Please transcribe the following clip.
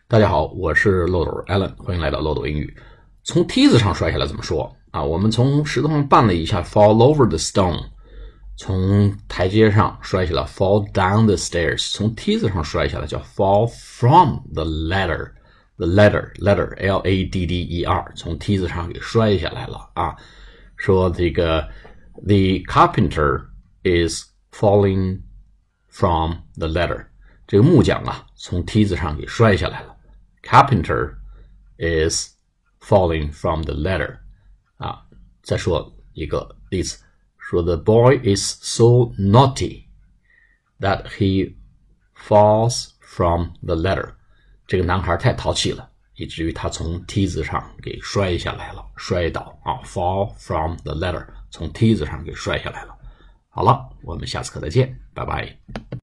大家好，我是漏斗 Alan， 欢迎来到漏斗英语。从梯子上摔下来怎么说啊？我们从石头上绊了一下 fall over the stone， 从台阶上摔下来 fall down the stairs， 从梯子上摔下来叫 fall from the ladder。The ladder L-A-D-D-E-R， 从梯子上给摔下来了啊。说这个 the carpenter is falling from the ladder， 这个木匠啊从梯子上给摔下来了。Carpenter is falling from the ladder 啊。再说一个例子，说 the boy is so naughty that he falls from the ladder， 这个男孩太淘气了，以至于他从梯子上给摔下来了，摔倒啊 fall from the ladder， 从梯子上给摔下来了。好了，我们下次课再见，拜拜。